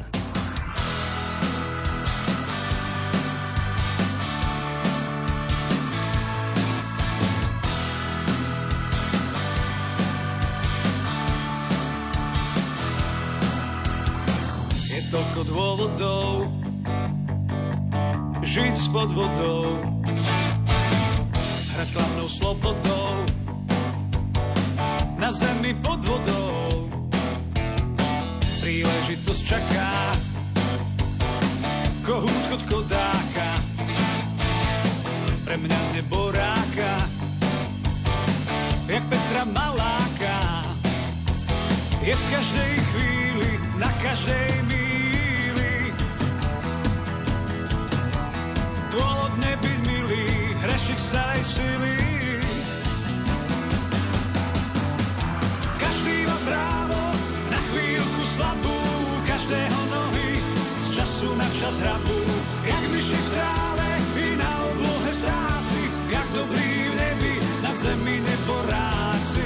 Je toľko dôvodov, žiť spod vodou, hrať hlavnou slobodou, na zemi pod vodou. Príležitosť čaká, kohút chod kodáka, pre mňa nebo ráka, jak Petra Maláka. Je v každej chvíli, na každej míli, dôvod nebyť milý, hrešiť z celej sily. Každý má právo na chvíľku slabú, každého nohy z času na čas hrabú, jak myši v tráve i na oblohe strásy, jak dobrý v nebi, na zemi neboráci.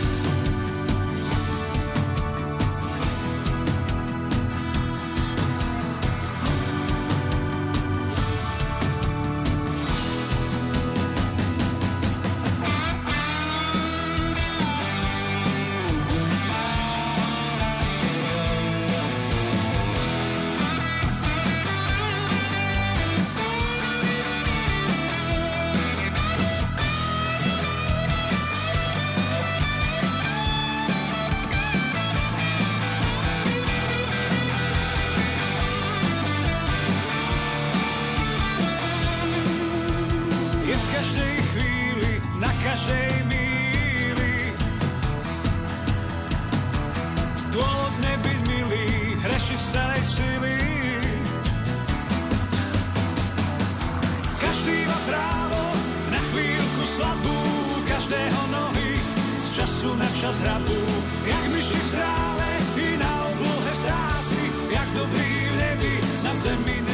Čas hrabú, jak myši v tráve i na oblohe strásy, jak dobrý v nebi, na zemi